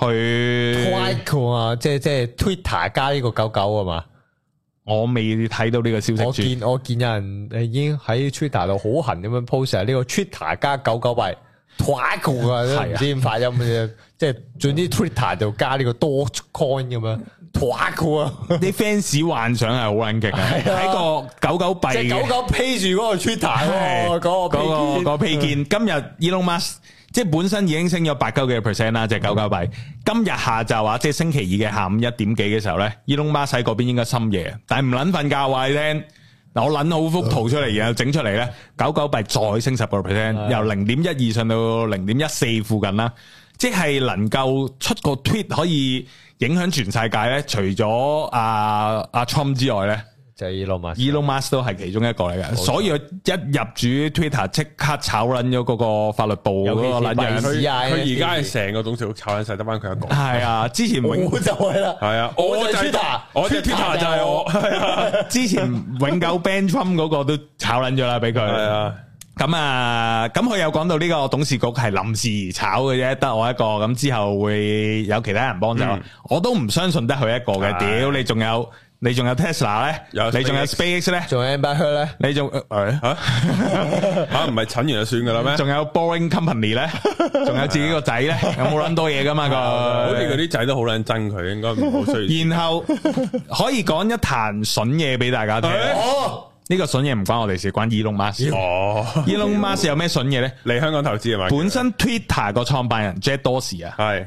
Twitter 啊，即係 Twitter 加呢個狗啊嘛？ 我未睇到呢個消息。 我見有人已經喺 Twitter 度好痕咁樣 post 呢個 Twitter 加狗幣 Twitter 啊，都唔知點發音嘅，即係總之 Twitter 就加呢個多 coin 咁樣 Twitter 啊！ 啲 fans 幻想係好撚勁啊！睇個狗幣， 即係狗披住嗰個 Twitter 嗰個披肩。今日 Elon Musk 即係本身已經升咗8幾個 percent 啦，隻狗幣。今日下晝啊，即係星期2嘅下午1點幾嘅時候咧，Elon Musk 喺嗰邊應該深夜，但係唔撚瞓覺話你聽。嗱，我撚好幅圖出嚟，然後整出嚟咧，狗幣再升10個 percent，由0.12上到0.14附近啦，即係能夠出個 tweet 可以影響全世界咧，除咗阿 Trump 之外咧。 就係 Elon Musk 都係其中一個嚟嘅，所以佢一入主 Twitter 即刻炒撚咗嗰個法律部嗰個撚人， 佢而家係成個董事局炒撚晒，得翻佢一個。 係啊，之前就係啦， 係啊，我就 Twitter， 我就 Twitter 就係我。係啊， 之前永久 ban Trump 嗰個都炒撚咗啦，俾佢。係啊，咁佢有講到呢個董事局係臨時炒嘅啫，得我一個，咁之後會有其他人幫手。我都唔相信得佢一個嘅，屌你仲有 Tesla 咧，你仲有 SpaceX 咧， 仲有 Amber Heard 咧， 你仲唔係診完就算噶啦咩？ 仲有 Boring Company 咧，仲有自己個仔咧，有冇撚多嘢噶嘛？ 好似嗰啲仔都好撚憎佢，應該唔好需要。 然後可以講一壇筍嘢俾大家聽。呢個筍嘢唔關我哋事，關 Elon Musk。Elon Musk 有咩筍嘢咧？ 嚟香港投資係咪？ 本身 Twitter 個創辦人 Jack Dorsey 啊， 係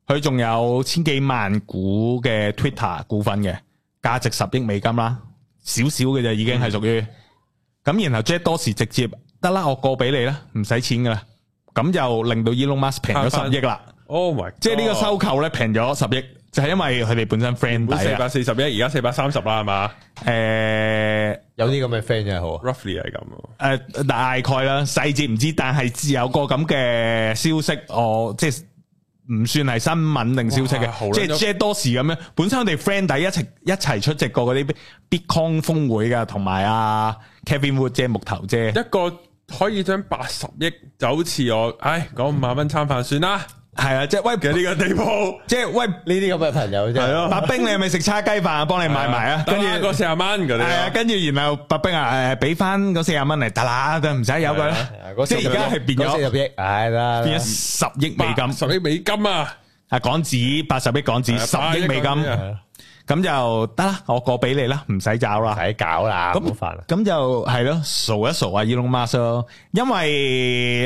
佢仲有千幾萬股嘅 Twitter 股份嘅，價值10億美金啦，少少嘅就已經係屬於。咁然後 Jack Dorsey 直接得啦，我過俾你啦，唔使錢噶啦，咁就令到 Elon Musk 平咗10億啦。 Oh my God， 即係呢個收購咧平咗10億，就係因為佢哋本身 friend 底啊。 440億，而家430啦，係嘛？ 有啲咁嘅 friend 真係好 ，roughly 係咁。 大概啦，細節唔知，但係只有個咁嘅消息，即係唔算係新聞定消息嘅，即係 Jack Dorsey咁樣。本身我哋 friend 底一齊出席過嗰啲 Bitcoin 峰會噶，同埋Kevin Wood 即係木頭姐， 一個可以將80億就好似我，講5萬蚊餐飯算啦。 係啊，即係喂嘅呢個地步，即係喂呢啲咁嘅朋友啫。係咯，白兵你係咪食叉雞飯啊？幫你買埋啊，跟住個40蚊嗰啲。係啊，跟住然後白兵俾翻嗰40蚊嚟得啦，都唔使有佢啦。即係而家係變咗 40億，係啦， 變咗10億美金 ，10億美金啊！ 港紙80億港紙，10億美金，咁就得啦，我過俾你啦，唔使找啦， 唔使搞啦，咁煩啦。 咁就係咯，數一數Elon Musk咯，因為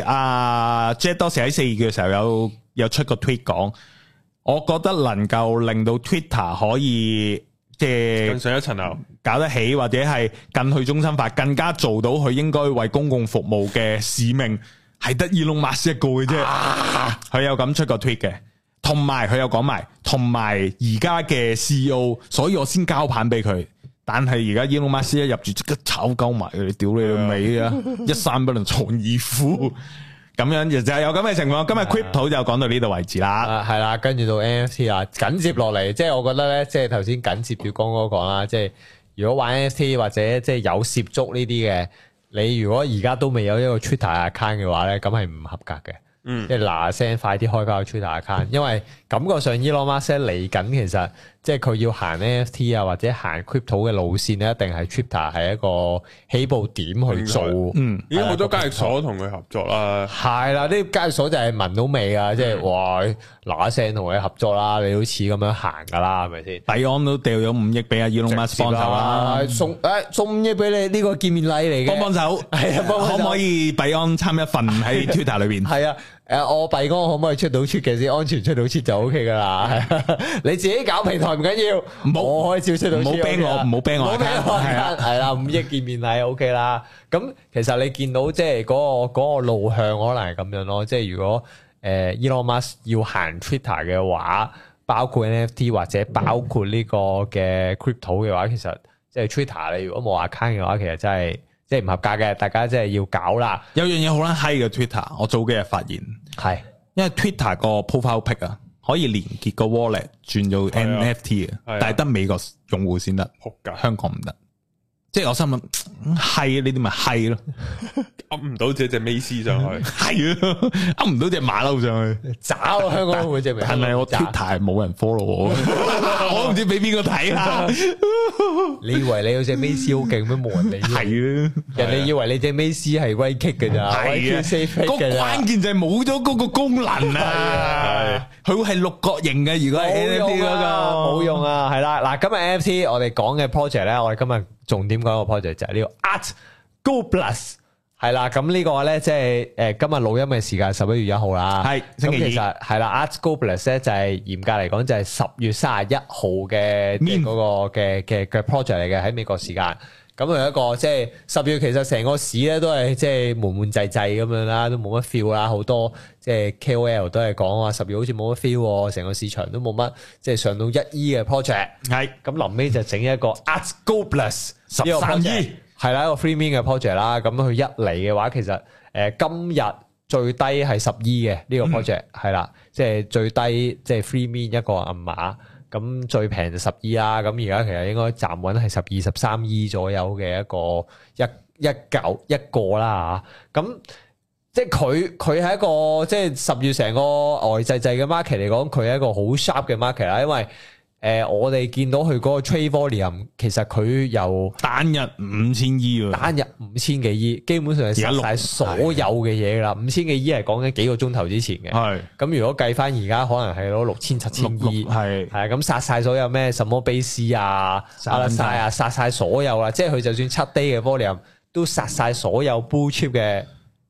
Jack Dorsey喺4月嘅時候有出個 tweet 講，我覺得能夠令到 Twitter 可以即係更上一層樓， 搞得起或者係更去中心化，更加做到佢應該為公共服務嘅使命，係得 Elon Musk 一個嘅啫。佢有咁出個 tweet 嘅，同埋佢有講埋，同埋而家嘅 CEO， 所以我先交棒俾佢。但係而家 Elon Musk 一入住即刻炒鳩埋佢，屌你個尾啊！一山不能藏二虎。咁樣就係有咁嘅情況，今日 Crypto 就講到呢度為止啦。 係啦，跟住到 NFT 啊，緊接落嚟，即係我覺得咧，即係頭先緊接住剛剛講啦，即係如果玩 NFT 或者即係有涉足呢啲嘅，你如果而家都未有一個 Twitter account 嘅話咧，咁係唔合格嘅。即係嗱聲快啲開個 Twitter account，因為感覺上 Elon Musk 嚟緊，其實即係佢要行 NFT 啊或者行 Crypto 嘅路線咧，一定係 Twitter 係一個起步點去做。 已經好多交易所同佢合作啦。係啦， 呢交易所就係聞到味啊，即係哇嗱聲同佢合作啦，你好似咁樣行噶啦，係咪先？ 幣安都掉咗5億俾Elon Musk幫手啦， 送5億俾你，呢個見面禮嚟嘅， 幫手。係啊，可唔可以幣安參一份喺 Twitter 裏邊？ 係啊。我幣安可唔可以出到出嘅先？安全出到出就 OK 噶啦。你自己搞平台唔緊要，我可以照出到出。唔好 ban 我，唔好 ban 我。係啦，5億見面禮 OK 啦。咁其實你見到即係嗰個路向可能係咁樣咯。即係如果Elon Musk 要行 Twitter 嘅話，包括 NFT 或者包括呢個嘅 Crypto 嘅話，其實即係 Twitter 你如果冇 account 嘅話，其實真係。即係唔合格嘅，大家真係要搞啦。 有樣嘢好撚閪嘅 Twitter，我早幾日發現係，因為 Twitter 個 profile pic 啊，可以連結個 wallet 轉做 NFT 嘅，但係得美國用戶先得，香港唔得。即係我心諗，係呢啲咪係咯， 噏唔到隻美斯上去， 係啊，噏唔到隻馬騮上去， 找香港會隻美。 係咪我 Twitter 冇人 follow 我？我都唔知俾邊個睇啊！ 你以為你有隻美斯好勁咩？冇人理。係啊，人哋以為你隻美斯係威 kick 嘅咋？係啊，個關鍵就係冇咗嗰個功能啊！佢會係六角形嘅，如果係 NFT 嗰個冇用啊！係啦，嗱，今日 NFT 我哋講嘅 project 咧，我哋今日重點講個 project 就係呢個 ART-GO+係啦，咁呢個咧即係今日錄音嘅時間11月1號啦，係星期二。咁其實係啦，ART-GO+ 咧就係嚴格嚟講就係10月31號嘅嗰個嘅 project 嚟嘅，喺美國時間。咁係一個即係10月，其實成個市咧都係即係悶悶滯滯咁樣啦，都冇乜 feel 啦。好多即係 KOL 都係講話10月好似冇乜 feel，成個市場都冇乜即係上到1億嘅 project。係咁臨尾就整一個 ART-GO+ 13億。係啦，一個 free mint 嘅 project 啦，咁佢一嚟嘅話，其實今日最低係10億嘅呢個 project 係啦，即係最低即係 free mint 一個銀碼，咁最平就10億啦，咁而家其實應該站穩係12、13億左右嘅一個啦嚇，咁即係佢係一個即係10月成個呆滯滯嘅 market 嚟講，佢係一個好 sharp 嘅 market 啦，因為我哋見到佢嗰個 trade volume，其實佢由單日5000億喎， 單日5000幾億，基本上係殺晒所有嘅嘢啦。5000幾億係講緊幾個鐘頭之前嘅，係咁如果計翻而家可能係攞6000、7000億，係咁殺晒所有咩什麼 base 啊、RSI 啊，殺晒所有啦。即係佢就算7 day 嘅 volume 都殺晒所有 blue chip 嘅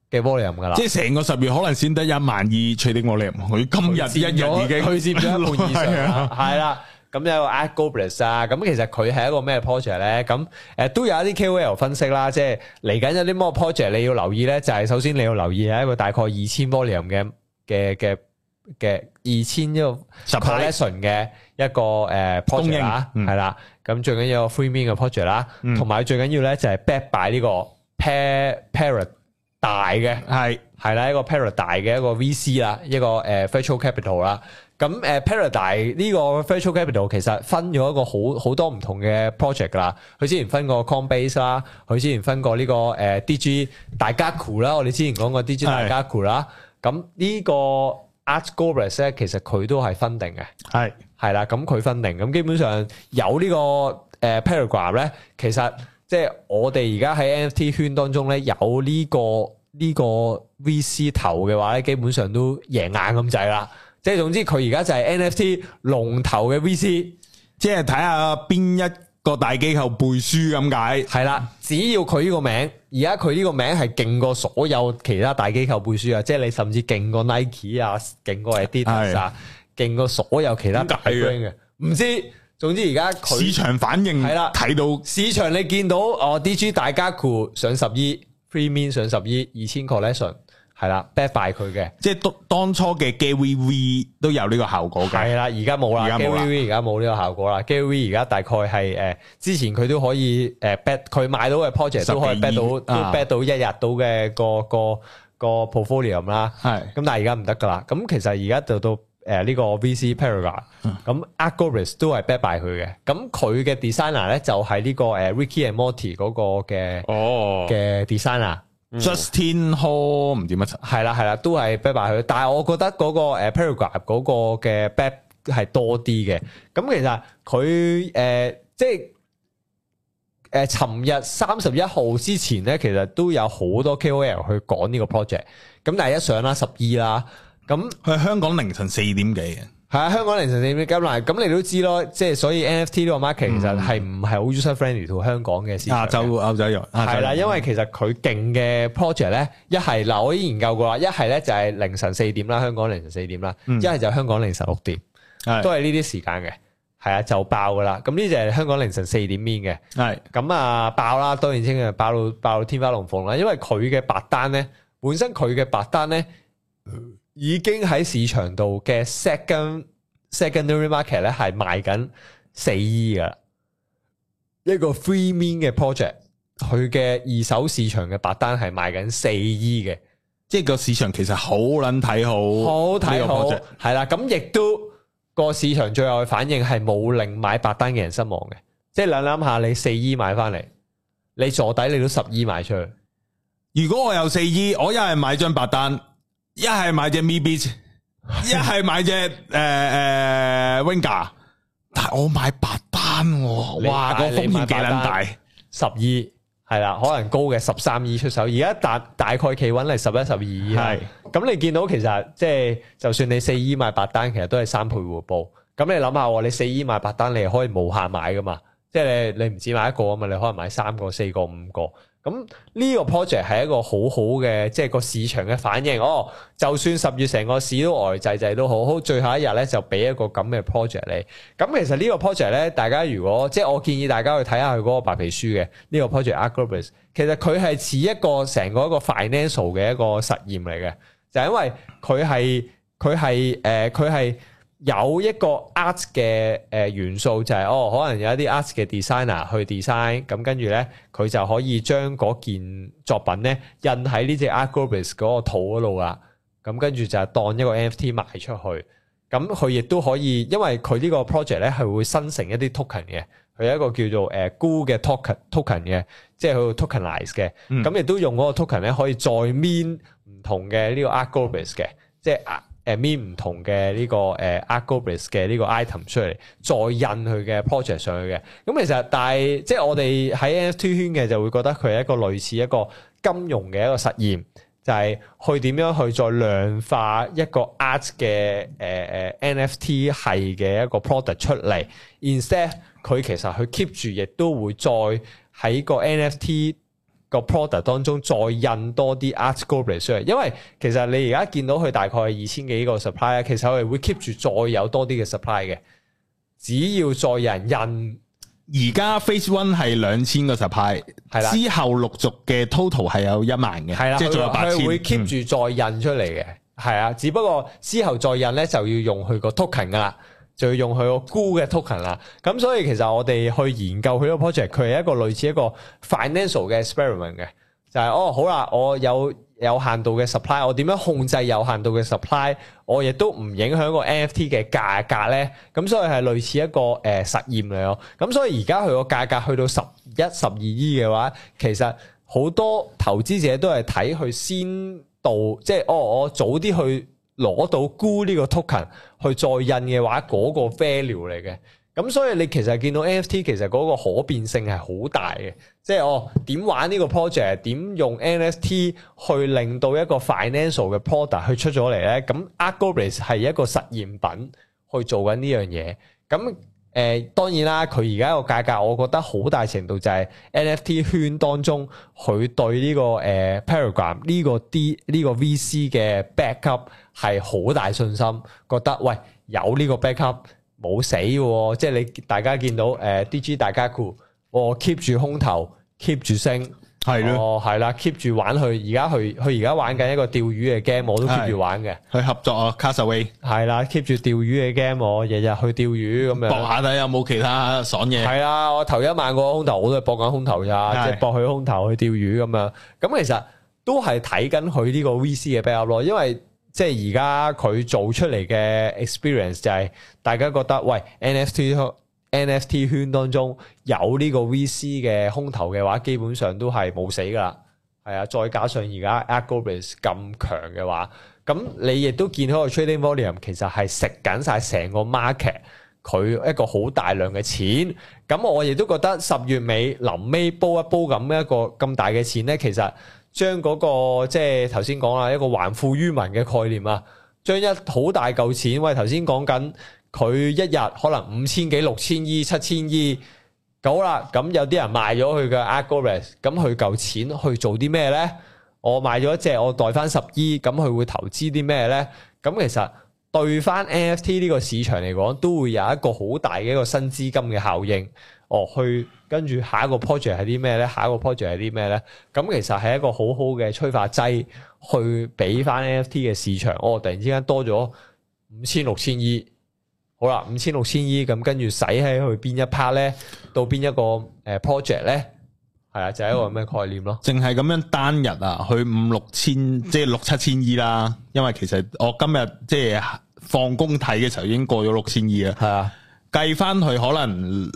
嘅 volume 噶啦， 即係成個10月可能先得12000 trading volume，佢今日一日已經佢佔咗一半以上，係啦。咁有個 Artgoblins 啊，咁其實佢係一個咩 project 咧？咁都有一啲 KOL 分析啦，即係嚟緊有啲咩 project 你要留意咧？就係首先你要留意係一個大概2000 volume 嘅2000一個 collection 嘅一個project 啦，係啦。咁最緊要個 free mint 嘅 project 啦，同埋最緊要咧就係 back by 呢個 Parrot 大嘅係啦，一個 Parrot 大嘅一個 VC 啦，一個virtual capital 啦。咁Paradise 呢個 virtual capital 其實分咗一個好多唔同嘅 project 啦。佢之前分過 Coinbase 啦，佢之前分過呢個DG 大家 Cool 啦，我哋之前講過 DG 大家 Cool 啦。咁呢個 Artgoblins 咧，其實佢都係分定嘅，係啦。咁佢分定，咁基本上有呢個Paragraph 咧，其實即係我哋而家喺 NFT 圈當中咧，有呢個 VC 頭嘅話咧，基本上都贏硬咁滯啦。即係總之佢而家就係 NFT 龍頭嘅 VC， 即係睇下邊一個大機構背書咁解。 係啦，只要佢呢個名，而家佢呢個名係勁過所有其他大機構背書啊！即係你甚至勁過 Nike 啊，勁過 Adidas 啊，勁過所有其他大 brand 嘅。唔知，總之而家佢市場反應係啦，睇到市場你見到DG 大家酷上10億 ，Free Mint 上10億，2000 collection。係啦 ，back by 佢嘅， 即係當初嘅 GaryVee 都有呢個效果嘅。 係啦，而家冇啦 ，GaryVee 而家冇呢個效果啦。GaryVee 而家大概係之前佢都可以back 佢買到嘅 project 都可以 back 到，都 back 到一日到嘅個 portfolio 啦。係，咁但係而家唔得噶啦。咁其實而家就到呢個 VC Paragraph，咁 Artgoblins 都係 back by 佢嘅。咁佢嘅 designer 咧就係呢個Ricky and Morty 嗰個嘅 designer。 Justin Hall 唔知乜係啦，都係 back by 佢，但係我覺得嗰個Paragraph 嗰個嘅 back 係多啲嘅。咁其實佢即係尋日31號之前咧，其實都有好多 KOL 去講呢個 project。咁但係一上啦12啦，咁佢香港凌晨4點幾嘅。 係啊，香港凌晨4點幾咁，咁你都知咯，即係所以 NFT 呢個 market 其實係唔係好 user friendly to 香港嘅市場。歐洲用係啦，因為其實佢勁嘅 project 咧，一係嗱我已經研究過啦，一係咧就係凌晨4點啦，香港凌晨4點啦，一係就香港凌晨6點，都係呢啲時間嘅，係啊就爆噶啦。咁呢就係香港凌晨4點面嘅，係咁啊爆啦，當然清嘅爆到天花龍鳳啦，因為佢嘅白單咧，本身佢嘅白單咧。已經喺市場度嘅 secondary market 咧係賣緊4億噶啦，一個 free mint 嘅 project， 佢嘅二手市場嘅白單係賣緊4億嘅， 即係個市場其實好撚睇好呢個 project， 係啦，咁亦都個市場最後嘅反應係冇令買白單嘅人失望嘅，即係諗下你4億買翻嚟，你坐底你都10億賣出去，如果我有4億，我一係買張白單。一係買隻 MeBeats， 一係買隻Winga， 但係我買白單，哇個風險幾撚大 ，10億係啦，可能高嘅13億出手，而家大概企穩係11、12億，係咁你見到其實即係就算你4億買白單，其實都係3倍回報。咁你諗下，你4億買白單，你係可以無限買噶嘛？即係你唔止買一個啊嘛，你可能買3個、4個、5個。咁呢個 project 係一個好好嘅，即係個市場嘅反應。就算10月成個市都呆滯滯都好，最後一日咧就俾一個咁嘅 project 你。咁其實呢個 project 咧，大家如果即係我建議大家去睇下佢嗰個白皮書嘅呢個 project Artgoblins， 其實佢係似一個成個一個 financial 嘅一個實驗嚟嘅，就係因為佢係有一個 art 嘅元素，就係可能有一啲 art 嘅 designer 去 design， 咁跟住咧佢就可以將嗰件作品咧印喺呢隻 Artgoblins 嗰個圖嗰度啦，咁跟住就當一個 NFT 賣出去，咁佢亦都可以，因為佢呢個 project 咧係會生成一啲 token 嘅，佢有一個叫做Goo 嘅 token 嘅，即係佢 tokenize 嘅，咁亦都用嗰個 token 咧可以再 mint 唔同嘅呢個 Artgoblins 嘅，即係mint 唔同嘅呢個Artgoblins 嘅呢個 item 出嚟，再印佢嘅 project 上去嘅。咁其實但係即係我哋喺 NFT 圈嘅就會覺得佢係一個類似一個金融嘅一個實驗，就係去點樣去再量化一個 art 嘅NFT 係嘅一個 product 出嚟。Instead 佢其實佢 keep 住亦都會再喺個 NFT 個 product 當中再印多啲 ArtGoblin 出嚟，因為其實你而家見到佢大概係2000幾個 supply， 其實我哋會 keep 住再有多啲嘅 supply 嘅，只要再有人印。 而家 Phase 1係2000個 supply， 係啦，之後陸續嘅 total 係有1萬嘅，係啦，即係仲有8000， 佢會 keep 住再印出嚟嘅，係啊，只不過之後再印咧就要用佢個 token 噶啦，就要用佢個 Goo 嘅 token 啦。咁所以其實我哋去研究佢個 project， 佢係一個類似一個 financial 嘅 experiment 嘅，就係好啦，我有限度嘅 supply， 我點樣控制有限度嘅 supply， 我亦都唔影響個 NFT 嘅價格咧。咁所以係類似一個實驗嚟咯。咁所以而家佢個價格去到11、12億嘅話，其實好多投資者都係睇佢先到，即係我早啲去攞到Goo呢個 token 去再印嘅話，嗰個 value 嚟嘅。咁所以你其實見到 NFT 其實嗰個可變性係好大嘅，即係點玩呢個 project， 點用 NFT 去令到一個 financial 嘅 product 去出咗嚟咧？咁 ArtGoblin 係一個實驗品去做緊呢樣嘢。咁當然啦，佢而家個價格，我覺得好大程度就係 NFT 圈當中佢對呢個Paragram 呢個 VC 嘅 backup 係好大信心，覺得喂有呢個 backup。冇死嘅，即係你大家見到DG 大家酷，keep 住空投 ，keep 住升，係咯，係啦 ，keep 住玩佢。而家佢而家玩緊一個釣魚嘅 game， 我都 keep 住玩嘅。去合作啊 Castaway 係啦 ，keep 住釣魚嘅 game， 我日日去釣魚咁樣。搏下睇有冇其他爽嘢。係啊，我頭1萬個空投，我都係搏緊空投咋，即係搏佢空投去釣魚咁樣。咁其實都係睇緊佢呢個 VC 嘅 backup 咯，因為。即係而家佢做出嚟嘅 experience 就係大家覺得喂 NFT 圈當中有呢個 VC 嘅空投嘅話，基本上都係冇死噶啦，係啊！再加上而家 ArtGoblin 咁強嘅話，咁你亦都見到個 trading volume 其實係食緊晒成個 market 佢一個好大量嘅錢。咁我亦都覺得10月尾臨尾煲一煲咁一個咁大嘅錢咧，其實。將嗰個即係頭先講啦，一個還富於民嘅概念啊，將一好大嚿錢，喂頭先講緊佢一日可能5000幾、6000億、7000億，好啦，咁有啲人賣咗佢嘅 ArtGoblin，咁佢嚿錢去做啲咩咧？我賣咗一隻，我袋翻10億，咁佢會投資啲咩咧？咁其實對翻 NFT 呢個市場嚟講，都會有一個好大嘅一個新資金嘅效應。去跟住下一個 project 係啲咩咧？下一個 project 係啲咩咧？咁其實係一個好好嘅催化劑，去俾翻 NFT 嘅市場。突然之間多咗5000、6000億，好啦，5000、6000億，咁跟住使喺去邊一 part 咧？到邊一個project 咧？係啊，就係一個咁嘅概念咯。淨係咁樣單日啊，去5、6千，即係6、7千億啦。因為其實我今日即係放工睇嘅時候已經過咗6000億啦。係啊。計翻佢可能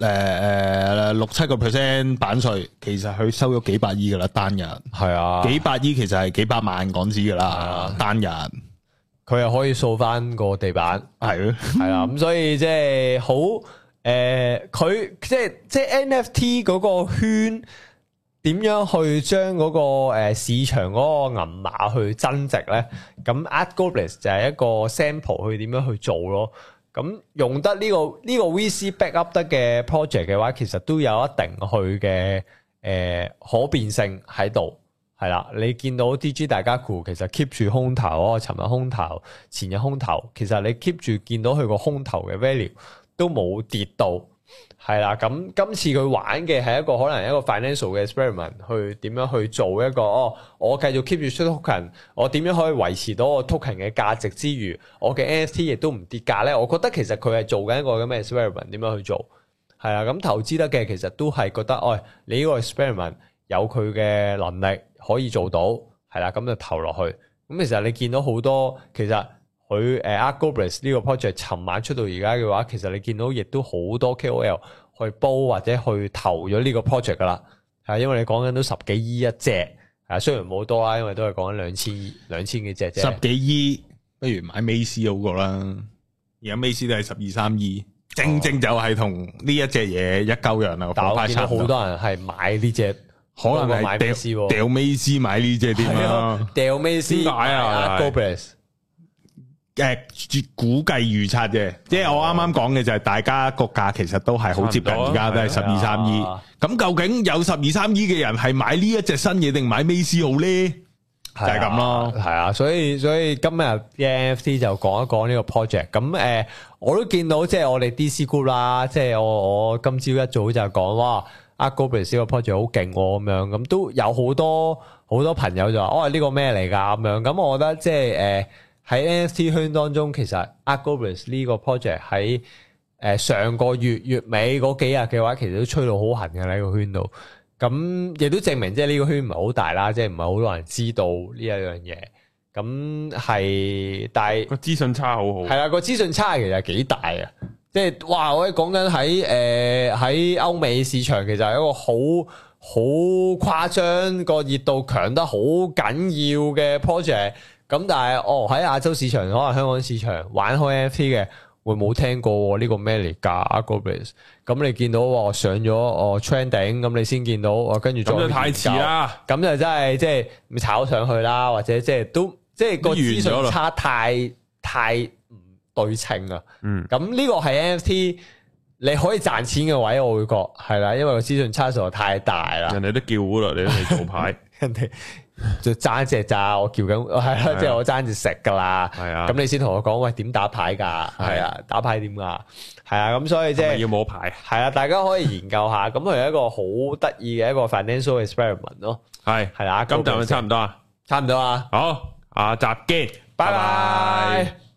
6-7% 版稅，其實佢收咗幾百億噶啦單日。係啊，幾百億其實係幾百萬港紙噶啦單日。佢又可以掃翻個地板，係咯，係啦。咁所以即係好佢即係 NFT 嗰個圈點樣去將嗰個市場嗰個銀碼去增值咧？咁 ArtGoblin 就係一個 sample 去點樣去做咯。咁用得呢個 VC backup 得嘅 project 嘅話，其實都有一定佢嘅可變性喺度，係啦。你見到 DG 大家酷其實 keep 住空投，尋日空投，前日空投，其實你 keep 住見到佢個空投嘅 value 都冇跌到，係啦。咁今次佢玩嘅係一個可能一個 financial 嘅 experiment，去點樣去做一個我繼續 keep 住出 token， 我點樣可以維持到個 token 嘅價值之餘，我嘅 NFT 亦都唔跌價咧？我覺得其實佢係做緊一個咁嘅 experiment， 點樣去做？係啦，咁投資得嘅其實都係覺得，你呢個 experiment 有佢嘅能力可以做到，係啦，咁就投落去。咁其實你見到好多，其實佢ArtGoblin 呢個 project 尋晚出到而家嘅話，其實你見到亦都好多 KOL 去煲或者去投咗呢個 project 噶啦，係因為你講緊都10幾億一隻，係雖然冇多啦，因為都係講緊2000幾隻啫。10幾億不如買 Macy 好過啦，而家 Macy 都係12、13億，正就係同呢一隻嘢一鳩樣啦。但我見到好多人係買呢隻，可能係掉 Macy 買呢隻點啊？掉 Macy 點解啊？ArtGoblin 估計預測嘅，即係我啱啱講嘅就係大家個價其實都係好接近，而家都係12.3億。咁究竟有12.3億嘅人係買呢一隻新嘢定買 Maze 好咧？就係咁咯。 係啊，所以今日嘅 NFT 就講一講呢個 project。咁我都見到即係我哋 DC Group 啦，即係我今朝一早就講哇，Art Goblins 呢個 project 好勁咁樣，咁都有好多朋友就話呢個咩嚟㗎咁樣。咁我覺得即係喺 NFT 圈當中，其實 Art Goblins 呢個 project 喺上個月尾嗰幾日嘅話，其實都吹到好痕嘅喺個圈度。咁亦都證明即係呢個圈唔係好大啦，即係唔係好多人知道呢一樣嘢。咁係，但係個資訊差好好。 係啦，個資訊差其實幾大啊！即係哇，我哋講緊喺歐美市場，其實係一個好誇張個熱度強得好緊要嘅 project。咁但係喺亞洲市場，可能香港市場玩開 NFT 嘅會冇聽過呢個咩嚟㗎 Art Goblins。咁你見到上咗trending，咁你先見到跟住再咁就太遲啦。 咁就真係即係炒上去啦，或者即係都即係個資訊差太唔對稱啊。咁呢個係 NFT 你可以賺錢嘅位，我會覺係啦，因為個資訊差實在太大啦。 人哋都叫糊啦，你都未做牌， 人哋就爭隻咋，我叫緊係啦，即係我爭住食噶啦。係啊，咁你先同我講喂，點打牌噶？係啊，打牌點噶？係啊，咁所以即係要冇牌。係啊，大家可以研究下，咁佢係一個好得意嘅一個 financial experiment 咯。 係啦， 咁就差唔多啊， 差唔多啊。 好，下集見，拜拜。